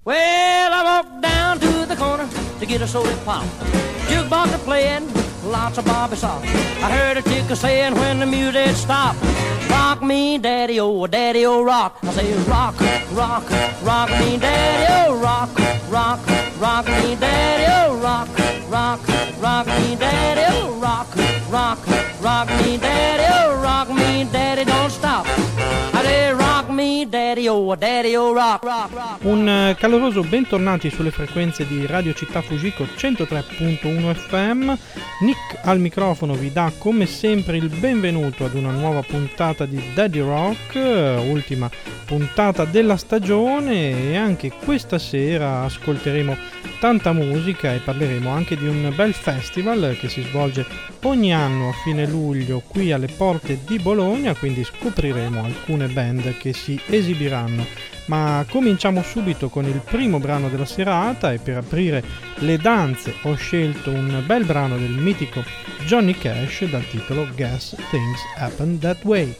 Well, I walked down to the corner to get a soda pop. Jukebox a playing, lots of Bobby soft. I heard a chick saying when the music stopped, rock me, daddy, oh, rock. I say rock, rock, rock me, daddy, oh, rock, rock, rock me, daddy, oh, rock, rock, rock me, daddy, oh, rock, rock, rock me, daddy, oh, rock me, daddy, don't stop. I say rock me, daddy, oh, rock, rock, rock. Un caloroso bentornati sulle frequenze di Radio Città Fujiko 103.1 FM. Nick al microfono vi dà come sempre il benvenuto ad una nuova puntata di Daddy Rock, ultima puntata della stagione, e anche questa sera ascolteremo tanta musica e parleremo anche di un bel festival che si svolge ogni anno a fine luglio qui alle porte di Bologna, quindi scopriremo alcune band che si esibiranno. Ma cominciamo subito con il primo brano della serata, e per aprire le danze ho scelto un bel brano del mitico Johnny Cash dal titolo Guess Things Happen That Way.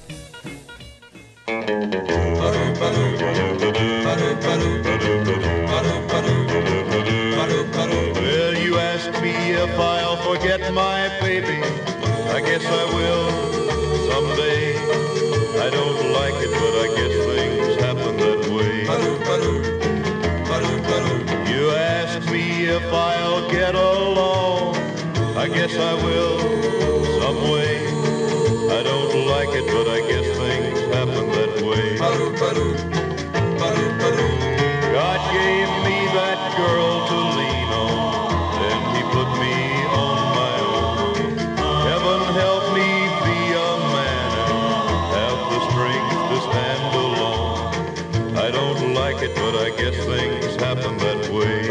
Well, you asked me if I'll forget my baby. I guess I will someday. I don't like it, but I guess things happen that way. You asked me if I'll get along. I guess I will some way. I don't like it, but I guess things happen that way. God gave me that girl to lean on, then he put me on my own. Heaven help me be a man and have the strength to stand alone. I don't like it, but I guess things happen that way.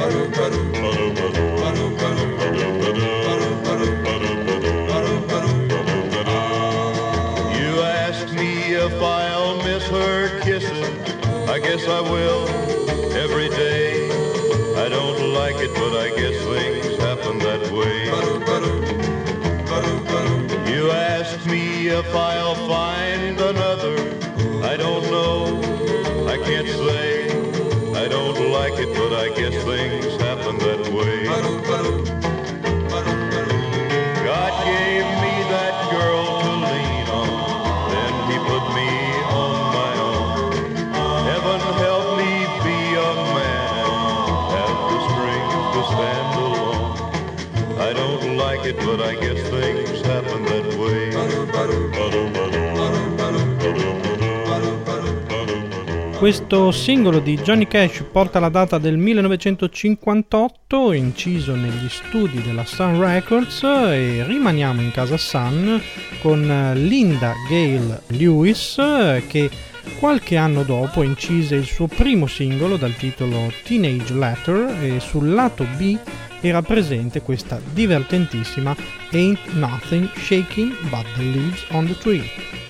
You asked me if I'll miss her kisses. I guess I will every day. I don't like it, but I guess things happen that way. You asked me if I'll find another. I don't know, I can't say. I don't like it, but I guess things happen that way. God gave me that girl to lean on, then he put me on my own. Heaven help me be a man and have the strength to stand alone. I don't like it, but I guess things happen that way. Questo singolo di Johnny Cash porta la data del 1958, inciso negli studi della Sun Records, e rimaniamo in casa Sun con Linda Gale Lewis, che qualche anno dopo incise il suo primo singolo dal titolo Teenage Letter, e sul lato B era presente questa divertentissima Ain't Nothing Shaking But the Leaves on the Tree.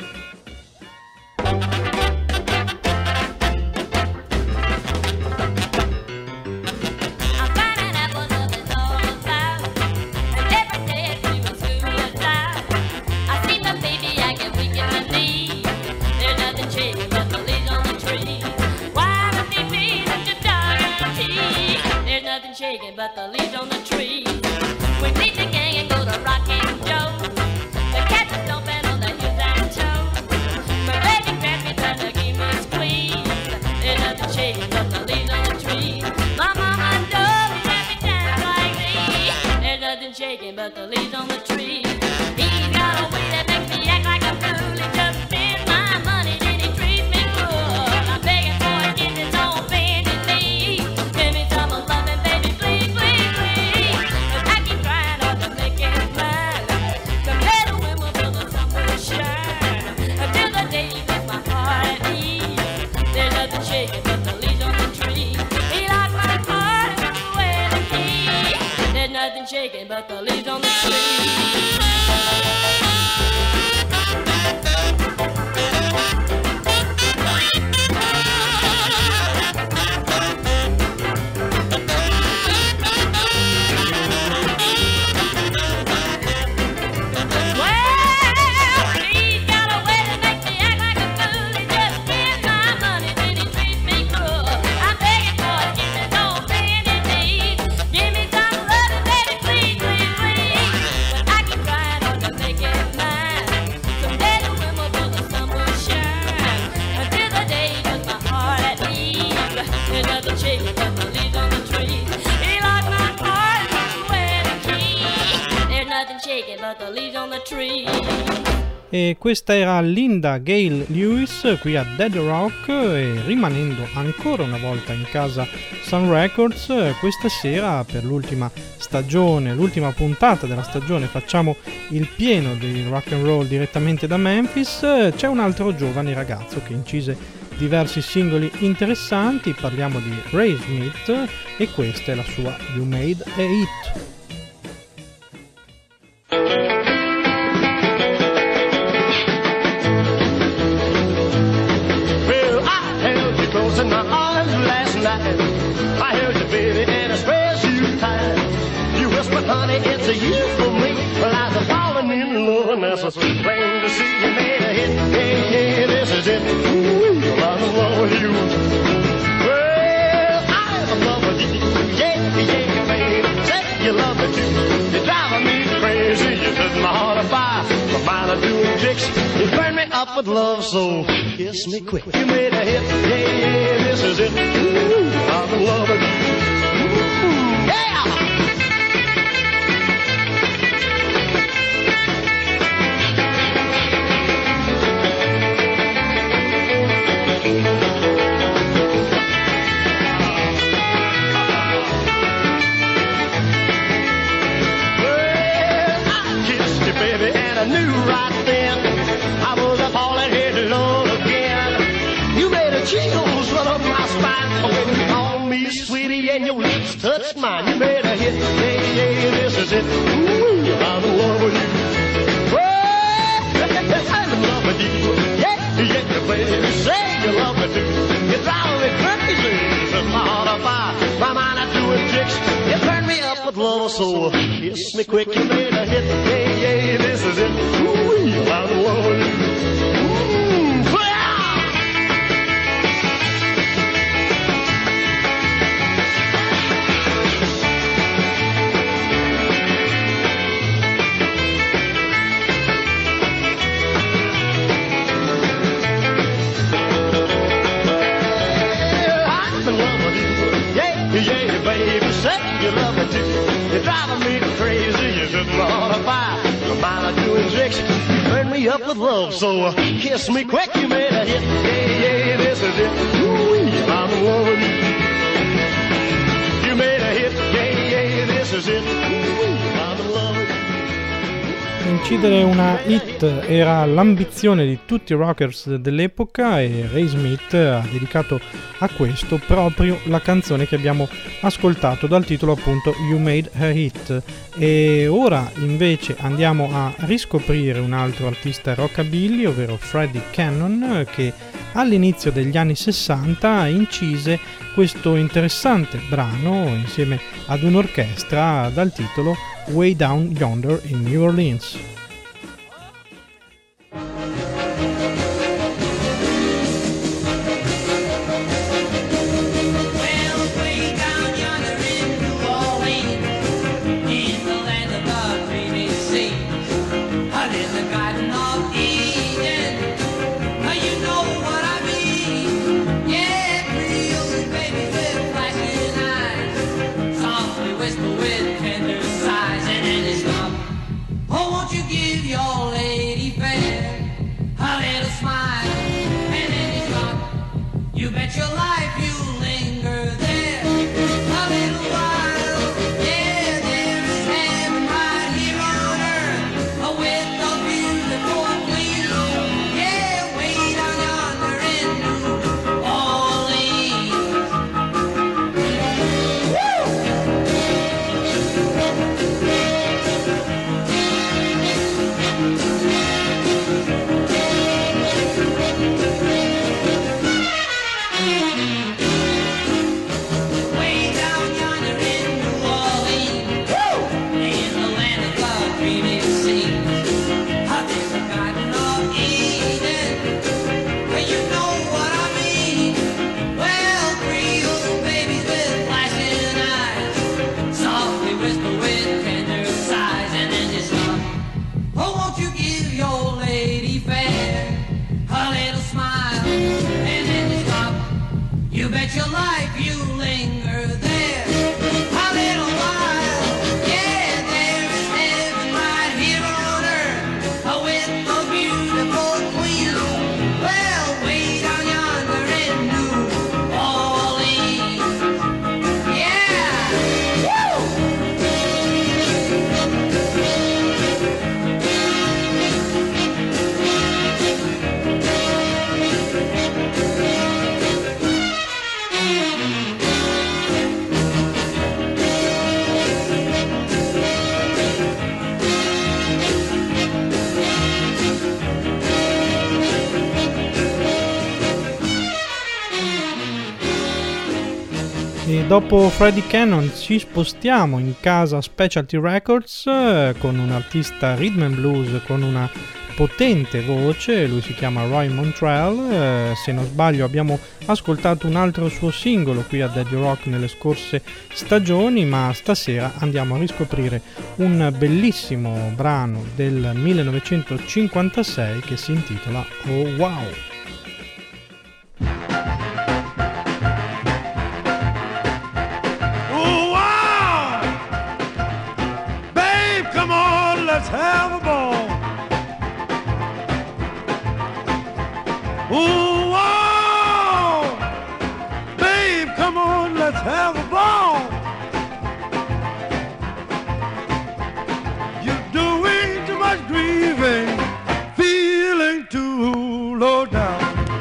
But the leaves on the tree. We meet the gang and go to Rockin' Joe. The cats are stomping on the hills and toes. My baby grabs me trying to give me a squeeze. There's nothing shaking but the leaves on the tree. My mama knows me let me dance like me. There's nothing shaking but the leaves on the tree. He's got a way that makes me act like a fool. He just spends my money, then he treats me cruel. I'm begging for a kiss, it's on bended knee. Give me some of loving, baby. Shaking, but the leaves on the tree. It's the tree. E questa era Linda Gale Lewis qui a Dead Rock, e rimanendo ancora una volta in casa Sun Records, questa sera per l'ultima stagione, l'ultima puntata della stagione, facciamo il pieno di rock and roll direttamente da Memphis. C'è un altro giovane ragazzo che incise diversi singoli interessanti, parliamo di Ray Smith e questa è la sua You Made a Hit. In my arms last night, I held you, baby, and I squeezed you tight. You whispered, honey, it's a you for me. Well, I was falling in love, and that's so plain to see. You made a hit, yeah, yeah, this is it. Ooh, I'm in love with you. Well, I'm in love with you, yeah, yeah, baby. Say you love me too. You're driving me crazy. You set my heart on fire. My mind is doing tricks. You burn me up with love, so kiss me quick. You made a hit, yeah, yeah, this is it. Ooh, I'm in love with you. Ooh, yeah! Well, I kissed you, baby, and I knew right then I was a falling headlong again. You made a chills run up my spine when you called me sweetie and your lips touched mine. You made a hit, yeah, yeah, this is it. Ooh, I'm in love with you. Well, I'm in love with you. Yeah, yeah, baby, say you love me too. You drive me crazy, set my heart on fire. My mind is doing tricks. You turn me up with love, so kiss me quick. You made a hit, yeah, yeah, this is it. Ooh, I'm in love with you. Yeah, baby, say you love me too. You're driving me crazy. You set my heart on fire. My mind is doing tricks. You burn me up with love, so kiss me quick. You made a hit. Yeah, yeah, this is it. Ooh, I'm in love with you. You made a hit. Yeah, yeah, this is it. Ooh, I'm in love with you. Incidere una hit era l'ambizione di tutti i rockers dell'epoca e Ray Smith ha dedicato a questo proprio la canzone che abbiamo ascoltato, dal titolo appunto You Made a Hit. E ora invece andiamo a riscoprire un altro artista rockabilly, ovvero Freddie Cannon, che all'inizio degli anni 60 incise questo interessante brano insieme ad un'orchestra dal titolo Way Down Yonder in New Orleans. E dopo Freddie Cannon ci spostiamo in casa Specialty Records con un artista rhythm and blues con una potente voce, lui si chiama Roy Montrell. Se non sbaglio abbiamo ascoltato un altro suo singolo qui a Daddy Rock nelle scorse stagioni, ma stasera andiamo a riscoprire un bellissimo brano del 1956 che si intitola Oh Wow. Have a ball. Ooh, wow. Babe, come on, let's have a ball. You're doing too much grieving, feeling too low down.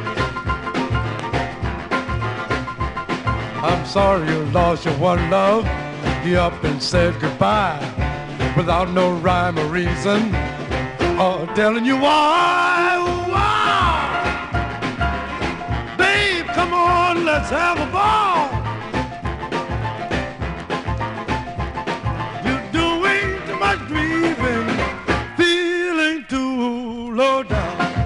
I'm sorry you lost your one love. You up and said goodbye without no rhyme or reason, or telling you why. Wow. Babe, come on, let's have a ball. You're doing too much grieving, feeling too low down.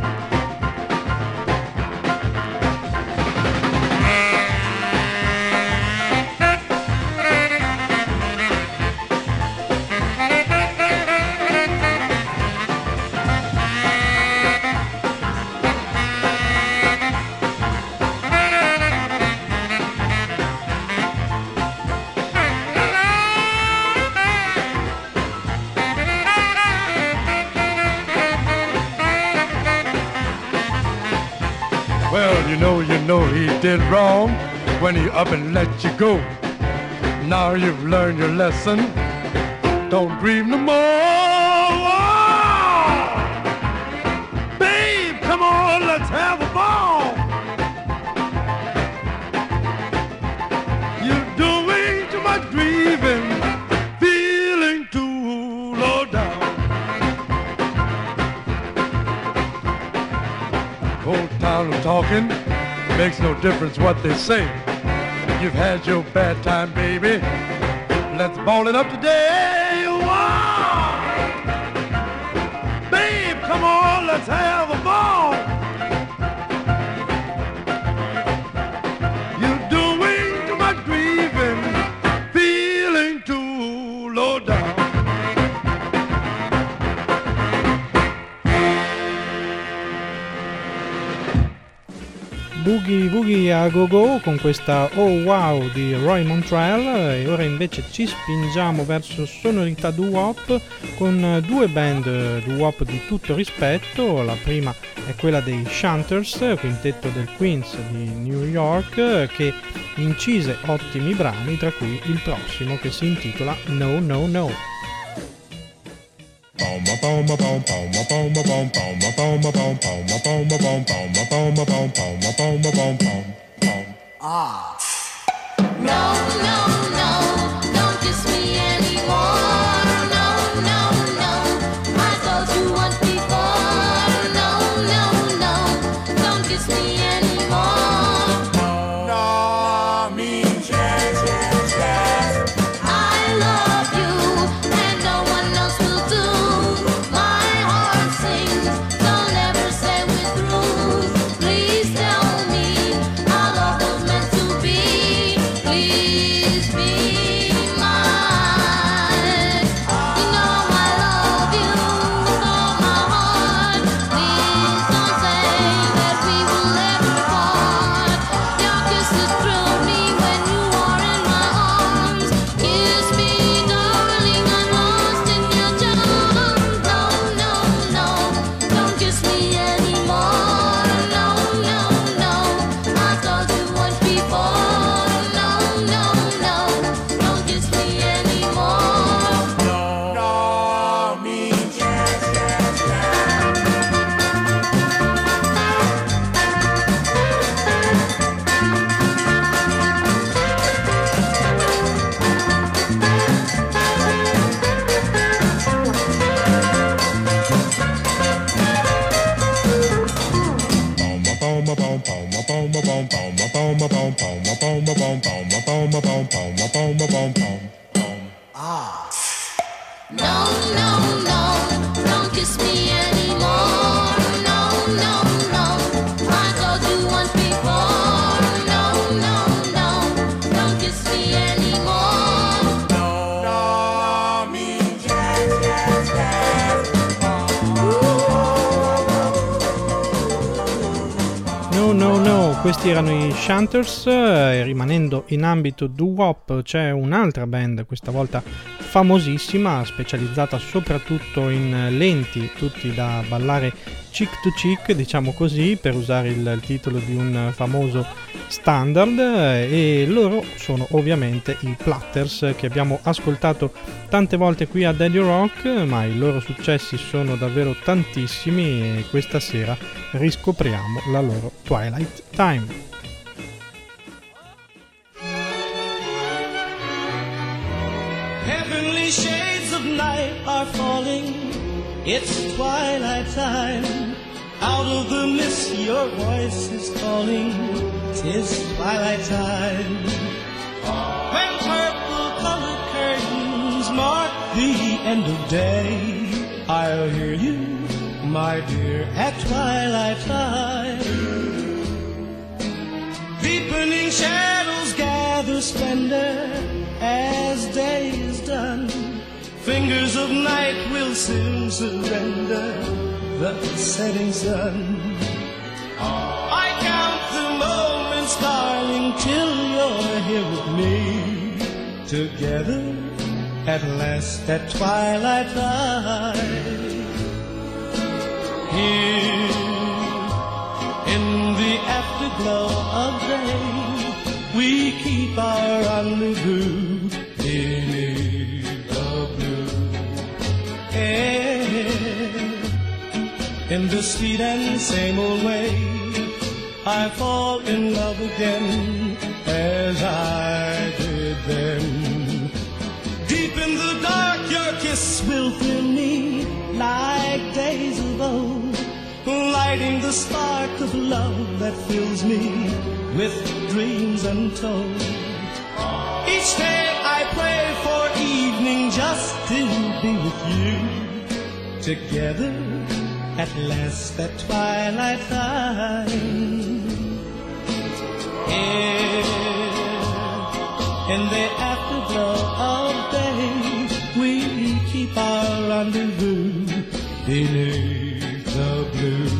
You know he did wrong when he up and let you go. Now you've learned your lesson. Don't grieve no more. Oh! Babe, come on, let's have a ball. You're doing too much grieving, feeling too low down. Whole town of talking, makes no difference what they say. You've had your bad time, baby. Let's ball it up today. Wow! Babe, come on, let's have a ball. You're doing too much grieving, feeling too low down. Boogie Woogie a Go Go con questa Oh Wow di Roy Montrell. E ora invece ci spingiamo verso sonorità doo-wop con due band doo-wop di tutto rispetto. La prima è quella dei Shanters, quintetto del Queens di New York, che incise ottimi brani, tra cui il prossimo che si intitola No No No. Ah. No, no, no, don't kiss me anymore. No, no, no, I told you once before. No, no, no, don't kiss me anymore. No means yes, yes, yes. I love you and no one else will do. My heart sings, don't ever say we're through. Please tell me our love was meant to be. No, no, no, don't kiss me anymore. No, no, no, I told you once before. No, no, no, don't kiss me anymore. No means yes, yes, yes. No, no, no, questi erano i Shanters. Rimanendo in ambito doo-wop c'è un'altra band, questa volta famosissima, specializzata soprattutto in lenti, tutti da ballare chick to chick, diciamo così, per usare il titolo di un famoso standard, e loro sono ovviamente i Platters, che abbiamo ascoltato tante volte qui a Daddy Rock, ma i loro successi sono davvero tantissimi e questa sera riscopriamo la loro Twilight Time. Heavenly shades of night are falling. It's twilight time. Out of the mist your voice is calling. 'Tis twilight time. When purple-colored curtains mark the end of day, I'll hear you, my dear, at twilight time. Deepening shadows gather splendor as day is done. Fingers of night will soon surrender the setting sun. I count the moments, darling, till you're here with me. Together at last at twilight time. Here in the afterglow of day, we keep our rendezvous beneath the blue air. In the sweet and same old way, I fall in love again as I did then. Deep in the dark, your kiss will thrill me like days of old, lighting the spark of love that fills me with dreams untold. Each day I pray for evening just to be with you. Together at last at twilight time. Here in the afterglow of day, we keep our rendezvous beneath the blue.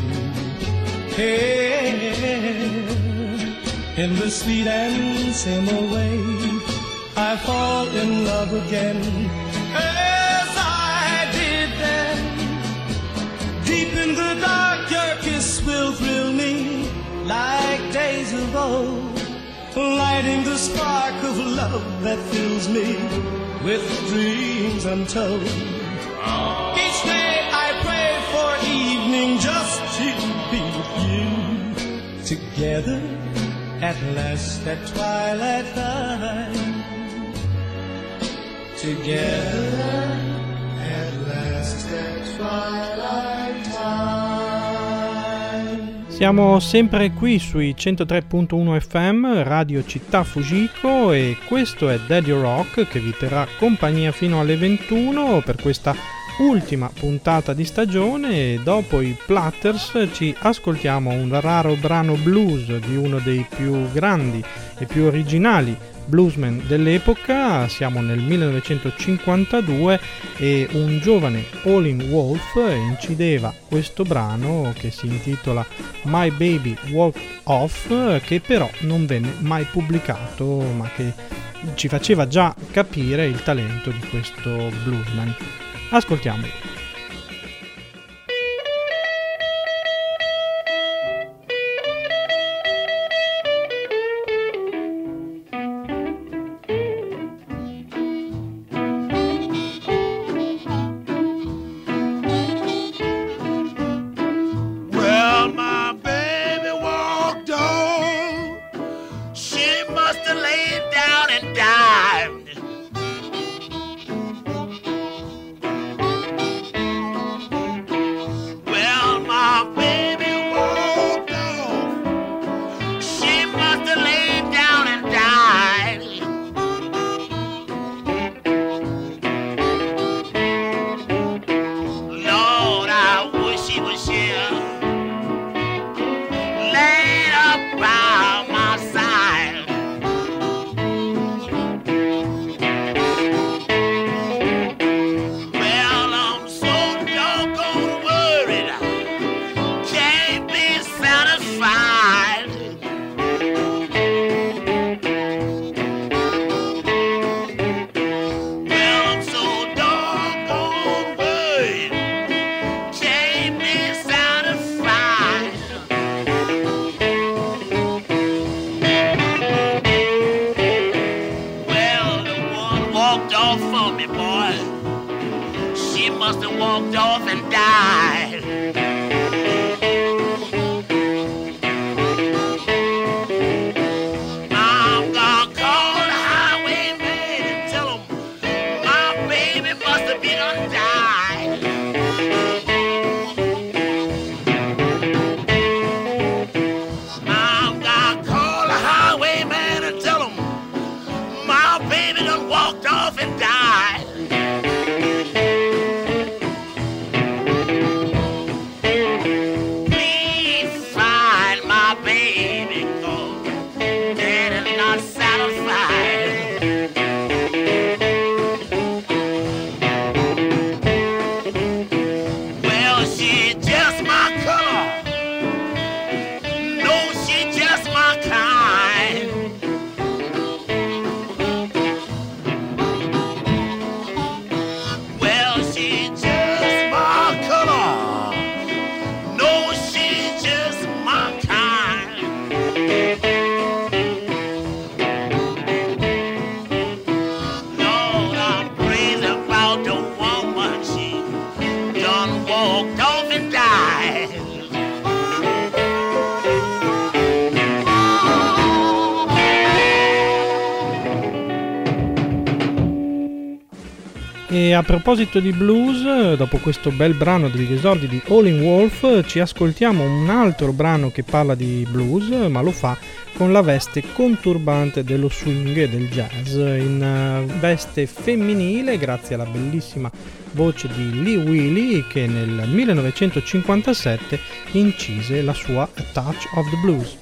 Here in the sweet and same old way, I fall in love again as I did then. Deep in the dark, your kiss will thrill me like days of old, lighting the spark of love that fills me with dreams untold. Each day I pray for evening just to be with you. Together at last at twilight time. Together at last at twilight time. Siamo sempre qui sui 103.1 FM, Radio Città Fujiko, e questo è Daddy Rock, che vi terrà compagnia fino alle 21 per questa ultima puntata di stagione. E dopo i Platters ci ascoltiamo un raro brano blues di uno dei più grandi e più originali bluesman dell'epoca. Siamo nel 1952 e un giovane Howlin' Wolf incideva questo brano che si intitola My Baby Walked Off, che però non venne mai pubblicato, ma che ci faceva già capire il talento di questo bluesman. Ascoltiamolo. Well, my baby walked on. She must have laid down and died. Well, my baby walked on. She must have laid down and died. walked off for me, boy. She must have walked off and died. I'm gonna call the highwayman and tell him my baby must have been undied. I'm gonna call the highwayman and tell him my baby done walked off and died. Please find my baby, 'cause Daddy's not satisfied. Well, she just my color. No, she just my kind. Well, she just my color. No, she just my kind. Lord, I'm crazy about the woman. She done walked off and died. E a proposito di blues, dopo questo bel brano degli esordi di Howlin' Wolf, ci ascoltiamo un altro brano che parla di blues, ma lo fa con la veste conturbante dello swing e del jazz, in veste femminile grazie alla bellissima voce di Lee Wiley, che nel 1957 incise la sua A Touch of the Blues.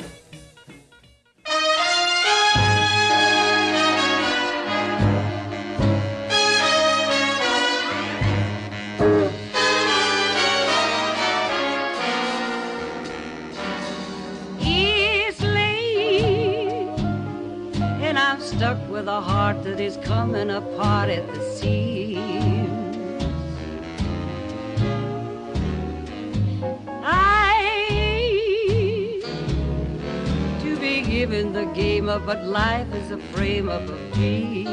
It's late, and I'm stuck with a heart that is coming apart at the seams. I hate to be given the game up, but life is a frame up of dreams.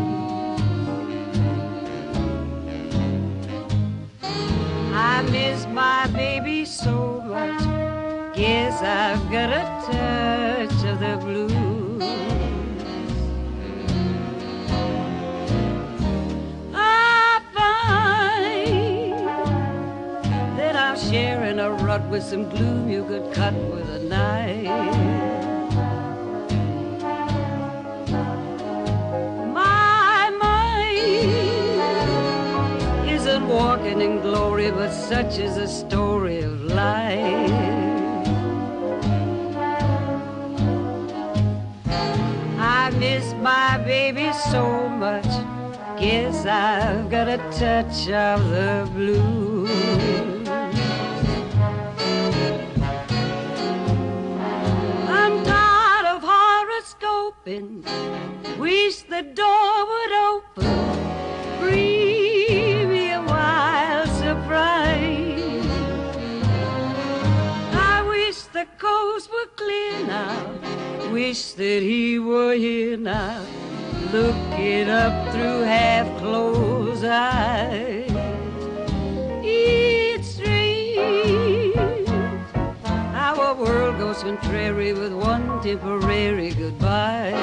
I miss my baby so much. Guess I've got a touch of the blues. I find that I'm sharing a rut with some gloom you could cut with a knife. My mind isn't walking in glory, but such is the story of life. I miss my baby so much. Guess I've got a touch of the blues. I'm tired of horoscoping. Wish the door would open. Bring me a wild surprise. I wish the coast were clear now. Wish that he were here now, looking up through half-closed eyes. It's strange how a world goes contrary with one temporary goodbye.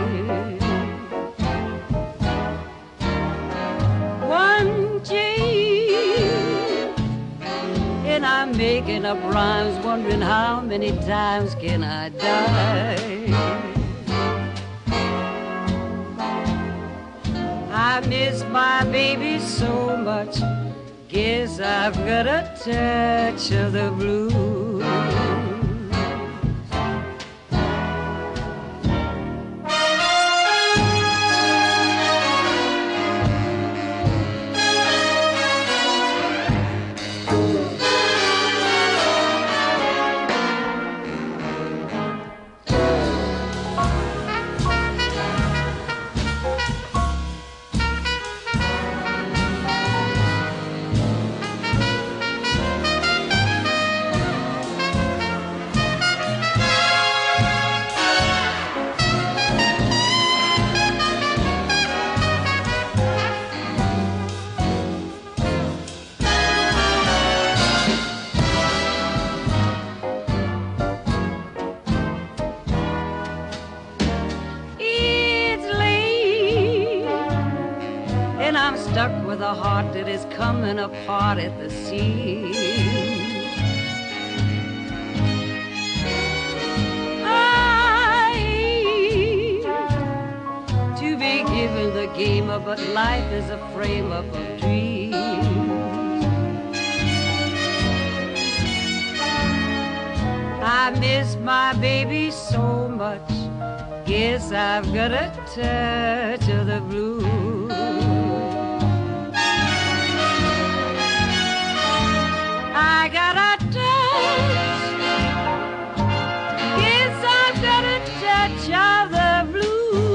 One change, and I'm making up rhymes, wondering how many times can I die. I miss my baby so much. Guess I've got a touch of the blues. stuck with a heart that is coming apart at the seams. I hate to be given the game of, but life is a frame up of dreams. I miss my baby so much. Guess I've got a touch of the blues. I got a touch. Guess I've got a touch of the blues.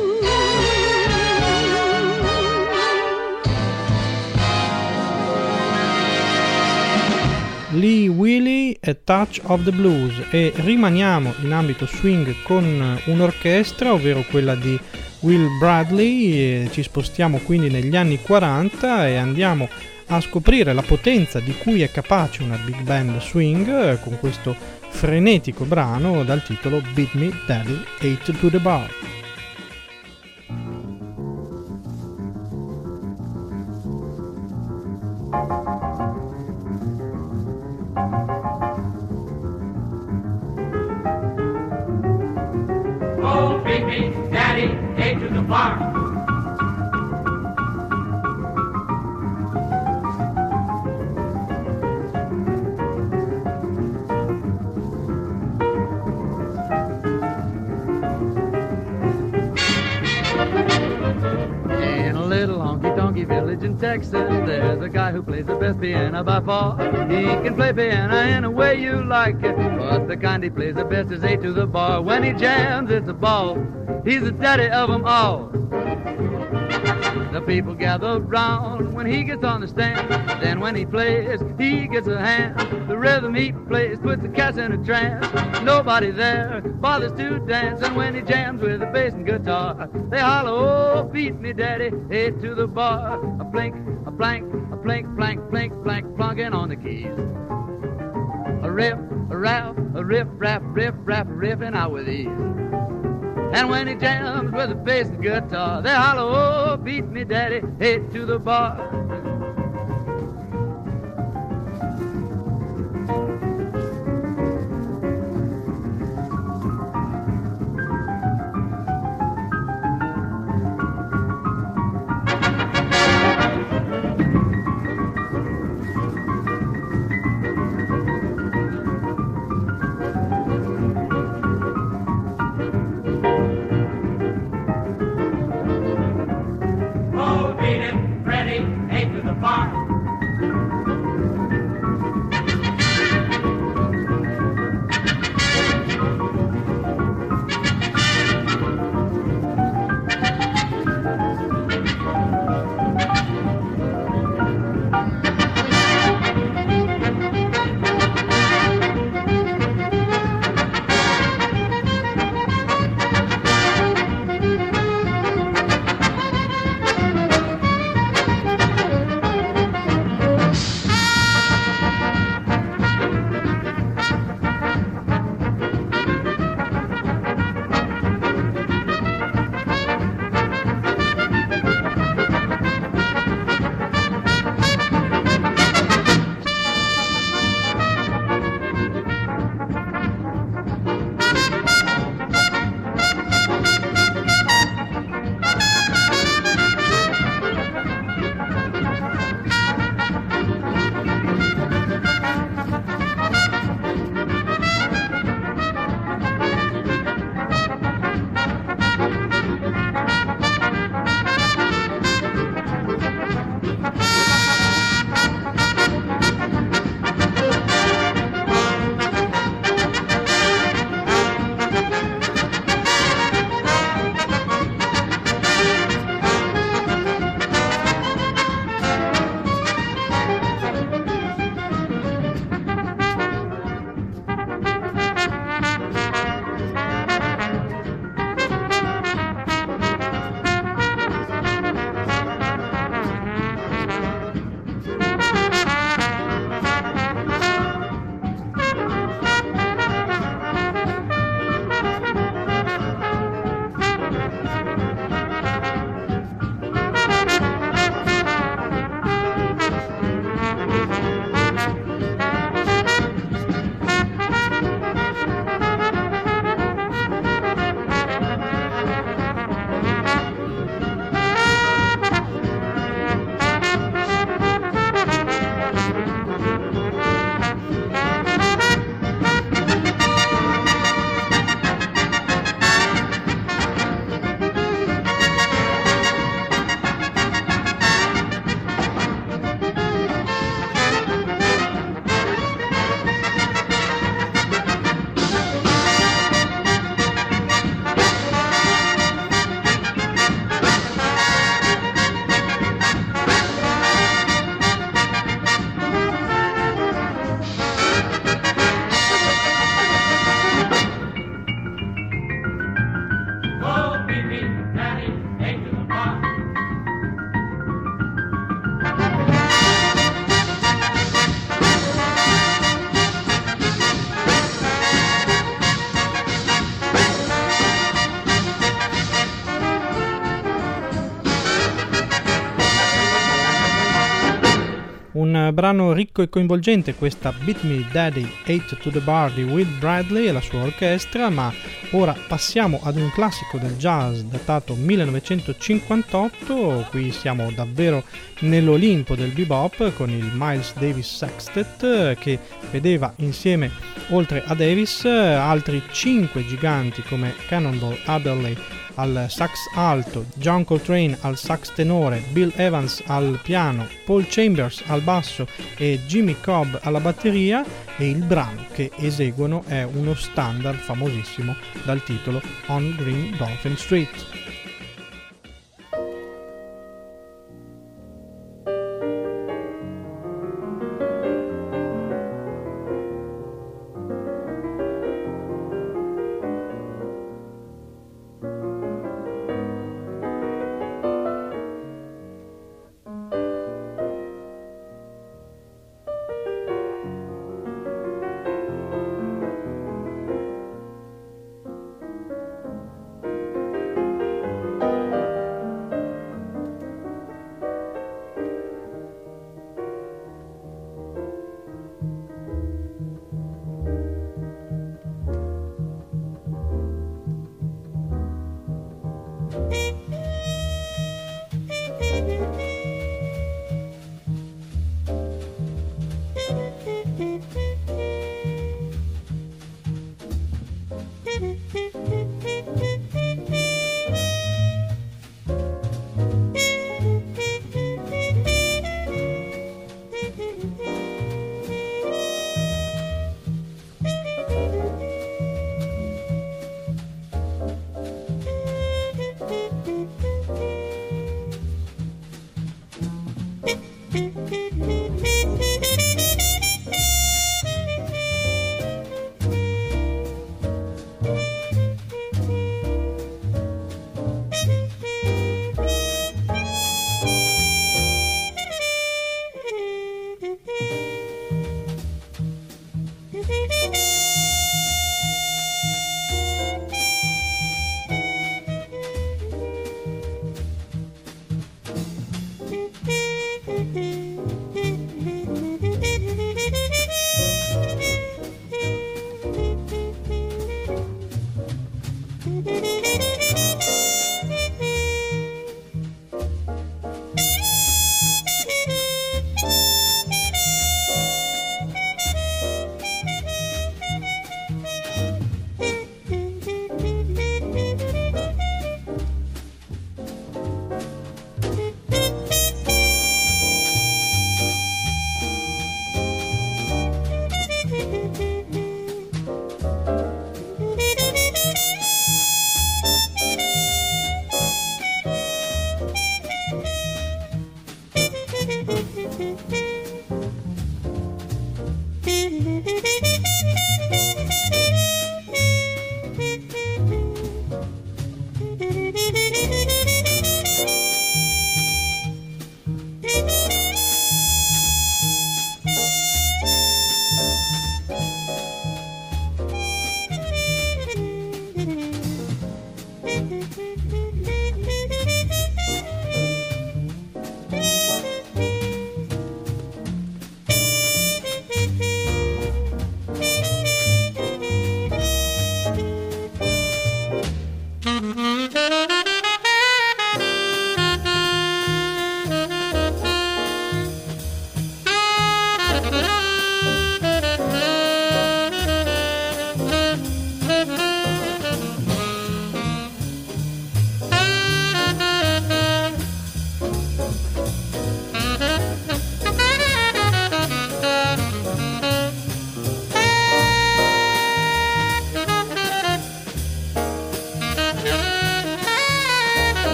Lee Willie e Touch of the Blues, e rimaniamo in ambito swing con un'orchestra, ovvero quella di Will Bradley, e ci spostiamo quindi negli anni 40 e andiamo a scoprire la potenza di cui è capace una big band swing con questo frenetico brano dal titolo Beat Me Daddy, 8 to the Bar. Oh, beat me, daddy, 8 to the bar. In a little honky-tonky village in Texas, there's a guy who plays the best piano by far. He can play piano any way you like it, but the kind he plays the best is 8 to the bar. When he jams, it's a ball. He's the daddy of them all. The people gather round when he gets on the stand. Then when he plays, he gets a hand. The rhythm he plays puts the cats in a trance. Nobody there bothers to dance. And when he jams with the bass and guitar, they holler, oh, beat me, daddy, 8 to the bar. A blink, a blank, a blink, blank, blink, blank, plunking on the keys. A riff, a rap, a riff, rap, riff, rap, riffing out with ease. And when he jams with the bass and guitar, they holler, oh, beat me, daddy, 8 to the bar. Oh, beat it, Freddie, 8 to Un brano ricco e coinvolgente, questa Beat Me Daddy 8 to the Bar di Will Bradley e la sua orchestra, ma ora passiamo ad un classico del jazz datato 1958, qui siamo davvero nell'Olimpo del bebop con il Miles Davis Sextet che vedeva insieme, oltre a Davis, altri 5 giganti come Cannonball Adderley al sax alto, John Coltrane al sax tenore, Bill Evans al piano, Paul Chambers al basso e Jimmy Cobb alla batteria, e il brano che eseguono è uno standard famosissimo dal titolo On Green Dolphin Street.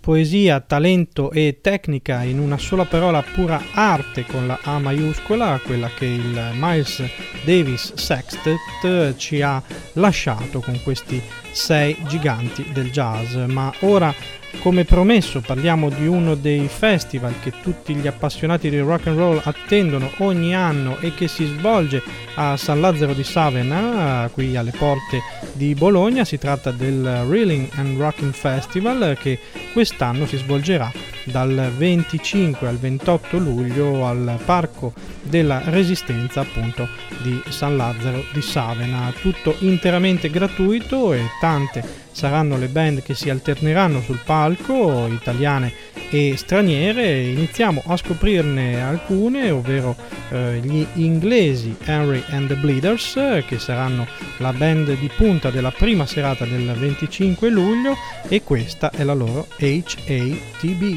poesia, talento e tecnica in una sola parola, pura arte con la A maiuscola, quella che il Miles Davis Sextet ci ha lasciato con questi 6 giganti del jazz. Ma ora, come promesso, parliamo di uno dei festival che tutti gli appassionati di rock and roll attendono ogni anno e che si svolge a San Lazzaro di Savena, qui alle porte di Bologna. Si tratta del Reeling and Rocking Festival, che quest'anno si svolgerà dal 25 al 28 luglio al Parco della Resistenza, appunto, di San Lazzaro di Savena. Tutto interamente gratuito e tante saranno le band che si alterneranno sul palco, italiane e straniere. Iniziamo a scoprirne alcune, ovvero gli inglesi Henry and the Bleeders, che saranno la band di punta della prima serata del 25 luglio, e questa è la loro HATB.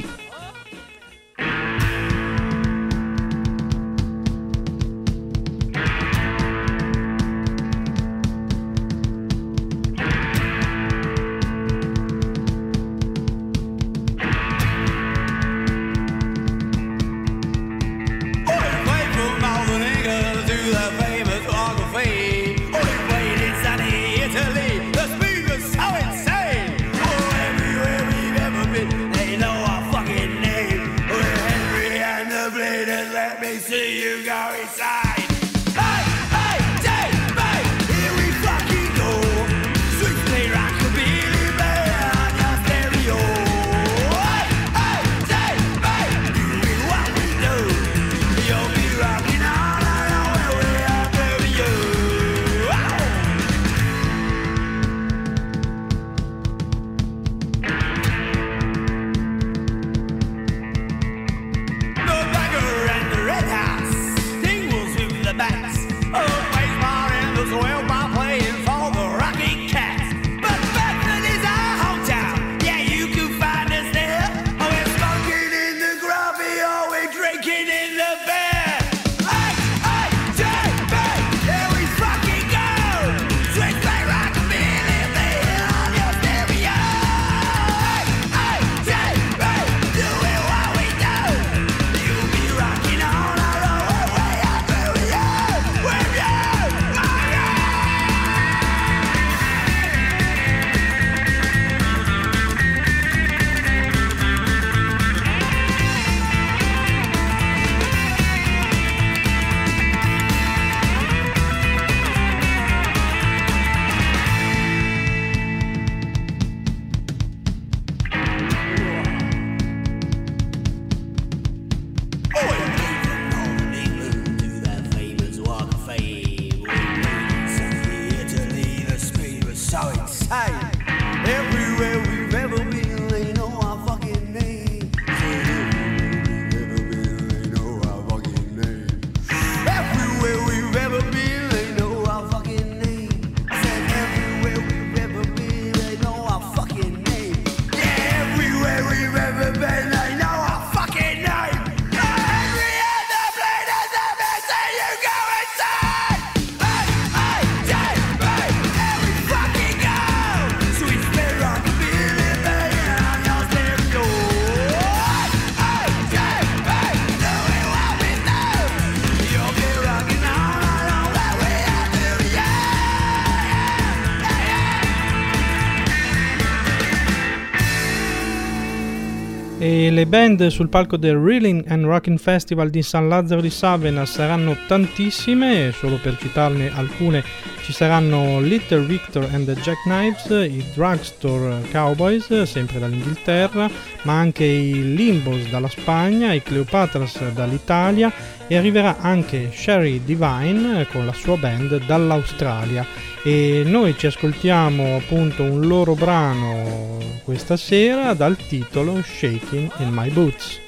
E le band sul palco del Reeling and Rocking Festival di San Lazzaro di Savena saranno tantissime. Solo per citarne alcune ci saranno Little Victor and the Jackknives, i Drugstore Cowboys sempre dall'Inghilterra, ma anche i Limbos dalla Spagna, i Cleopatras dall'Italia, e arriverà anche Sherry Divine con la sua band dall'Australia. E noi ci ascoltiamo appunto un loro brano questa sera dal titolo Shaking in My Boots.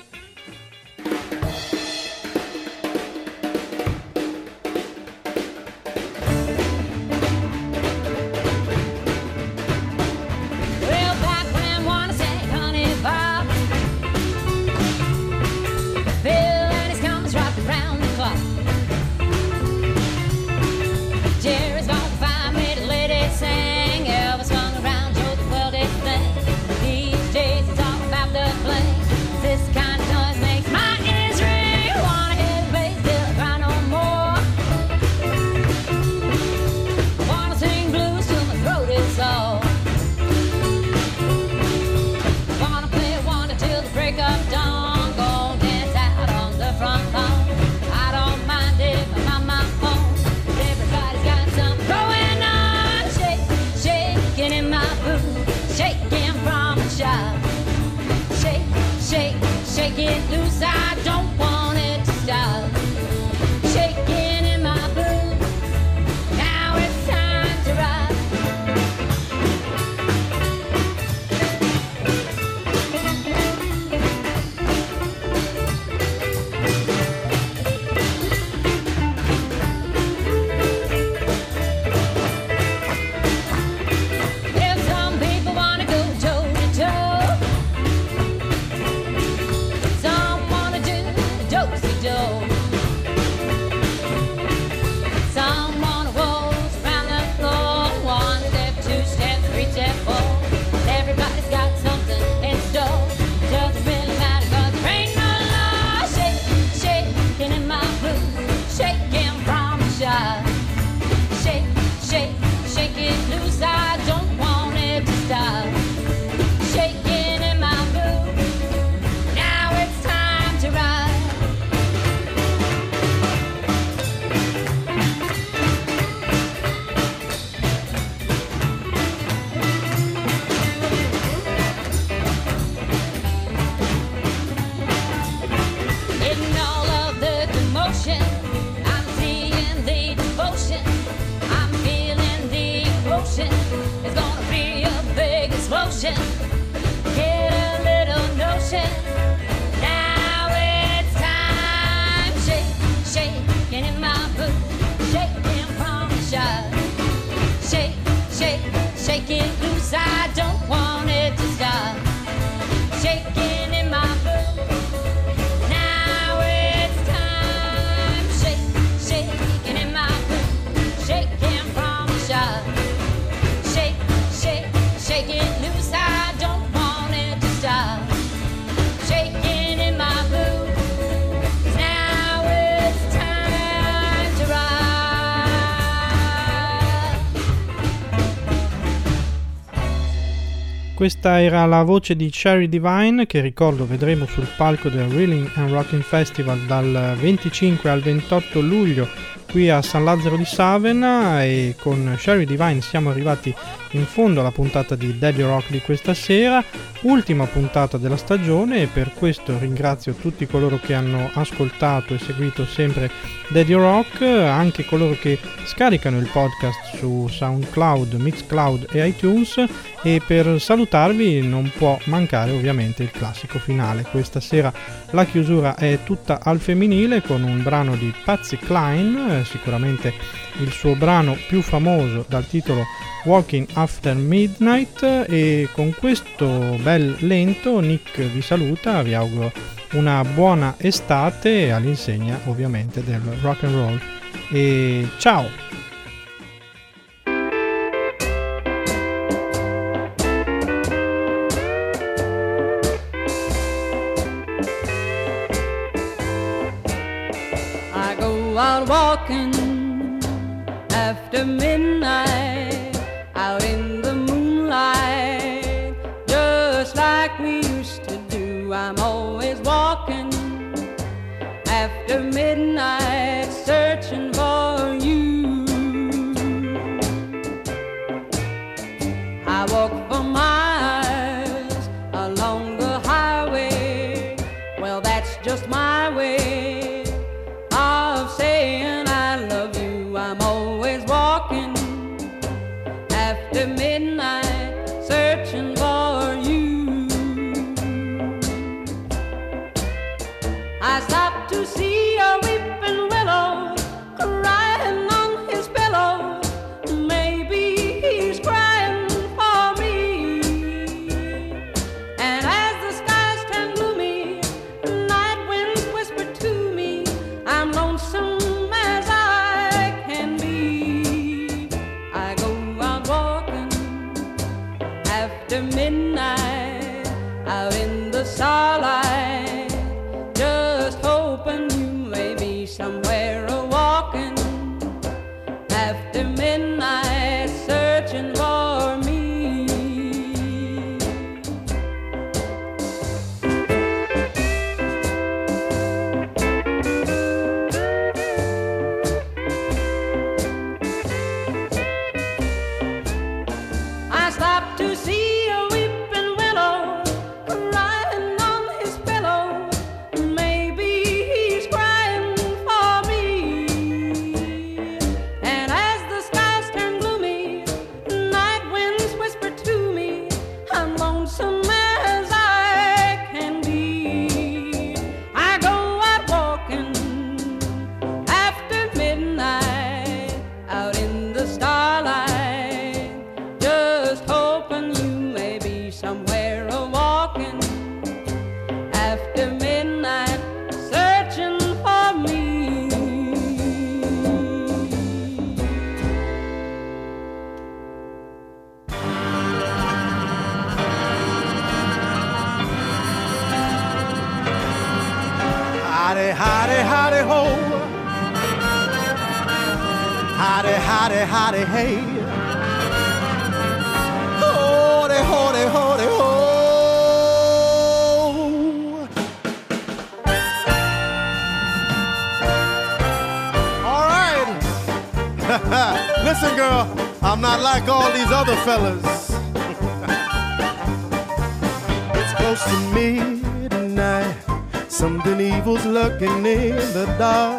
Well, back when one sang Honey Bob, Bill and his comes rocked around the clock. Jerry's gone find me the lady sang. Elvis hung around Joe the World thing. These days it's all shake it loose, I don't want it to stop. Shaking in my boots, now it's time to rock. If some people wanna go toe to toe, some wanna do do-si-do, some wanna waltz around the floor, one step, two step, three step, four. Everybody's got something in store. Doesn't really matter 'cause there ain't no law. Shake, shaking in my boots, shaking from the shot. Shake, shake, shake it loose. I don't want it to stop. Shaking in my boots. Now it's time to ride. In all of the commotion, I'm seeing the devotion. I'm feeling the emotion. It's gonna be a big explosion. Get a little notion. Now it's time. Shake, shaking in my boots, shaking from the shot. Shake, shake, shake it loose. I don't want it to stop. Shaking in my boots. Now it's time. Shake, shaking in my boots, shaking from the shot. Shake, shake, shake it loose. I don't want it to stop. Shaking in my boots. Now it's time to ride. Questa era la voce di Sherry Divine, che ricordo vedremo sul palco del Reeling and Rocking Festival dal 25 al 28 luglio qui a San Lazzaro di Savena, e con Sherry Divine siamo arrivati in fondo alla puntata di Daddy Rock di questa sera, ultima puntata della stagione, e per questo ringrazio tutti coloro che hanno ascoltato e seguito sempre Daddy Rock, anche coloro che scaricano il podcast su SoundCloud, Mixcloud e iTunes, e per salutarvi non può mancare ovviamente il classico finale. Questa sera la chiusura è tutta al femminile con un brano di Patsy Cline, sicuramente il suo brano più famoso dal titolo Walking After Midnight, e con questo bel lento Nick vi saluta, vi auguro una buona estate all'insegna ovviamente del rock and roll, e ciao! I go out walking after midnight, out in the moonlight, just like we used to do. I'm always walking after midnight, searching for you. I walk for miles along the highway, well that's just my way of saying I love you. I'm always walking after midnight, searching for you. I stopped to see a weeping willow crying on his pillow. Maybe he's crying for me. And as the skies turn gloomy, night winds whisper to me, I'm lonesome as I can be. I go out walking after midnight, out in the starlight, just hoping you may be somewhere a-walking after midnight, searching for me. I stopped to see a weeping willow crying on his Howdy, howdy, howdy, ho. Howdy, howdy, howdy, hey. Howdy, howdy, howdy, ho. All right. Listen, girl, I'm not like all these other fellas. It's close to midnight. Something evil's lurking in the dark.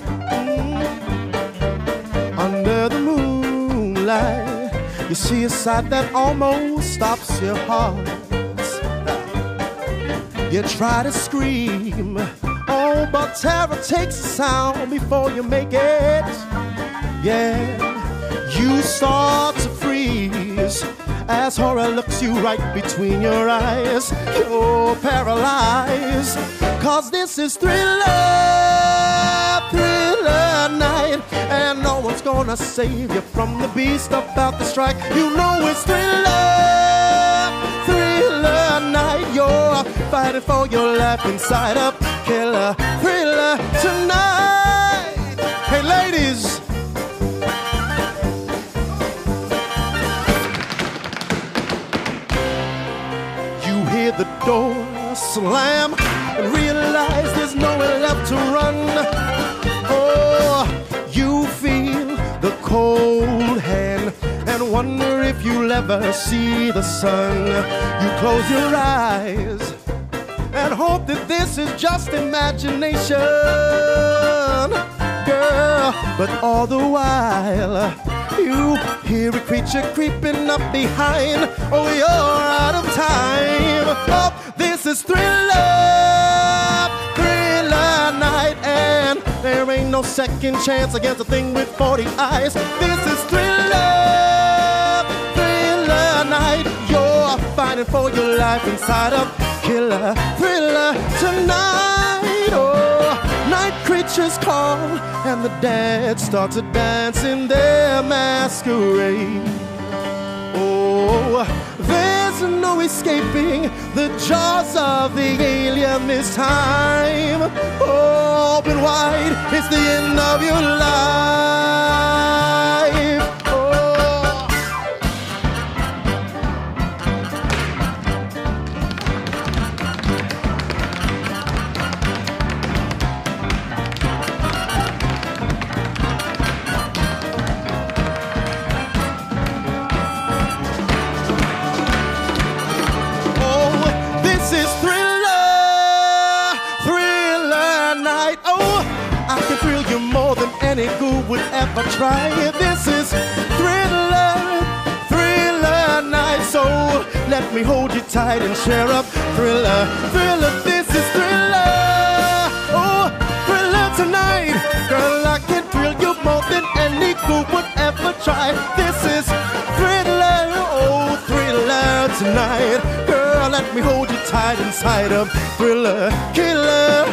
Under the moonlight, you see a sight that almost stops your heart. You try to scream, oh, but terror takes a sound before you make it. Yeah, you start to freeze as horror looks you right between your eyes. You're paralyzed, 'cause this is Thriller, Thriller night. And no one's gonna save you from the beast about to strike. You know it's Thriller, Thriller night. You're fighting for your life inside a killer thriller tonight. Hey ladies, hear the door slam and realize there's nowhere left to run. Oh, you feel the cold hand and wonder if you'll ever see the sun. You close your eyes and hope that this is just imagination, girl. But all the while you hear a creature creeping up behind. Oh, you're out of time. Oh, this is Thriller, Thriller night. And there ain't no second chance against a thing with 40 eyes. This is Thriller, Thriller night. You're fighting for your life inside a killer thriller tonight. Oh, night creatures call and the dead start to dance in their masquerade. Oh, there's no escaping the jaws of the alien this time. Open wide, it's the end of your life. Any ghoul would ever try. This is Thriller, Thriller night. So let me hold you tight and share up Thriller, Thriller. This is Thriller, oh, Thriller tonight. Girl, I can thrill you more than any ghoul would ever try. This is Thriller, oh, Thriller tonight. Girl, let me hold you tight inside of Thriller, killer.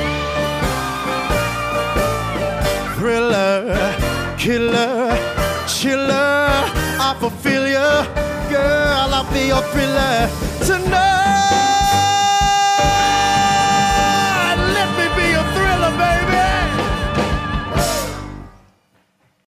Thriller, killer, chiller, I fulfill you. Girl, I'll be your thriller tonight.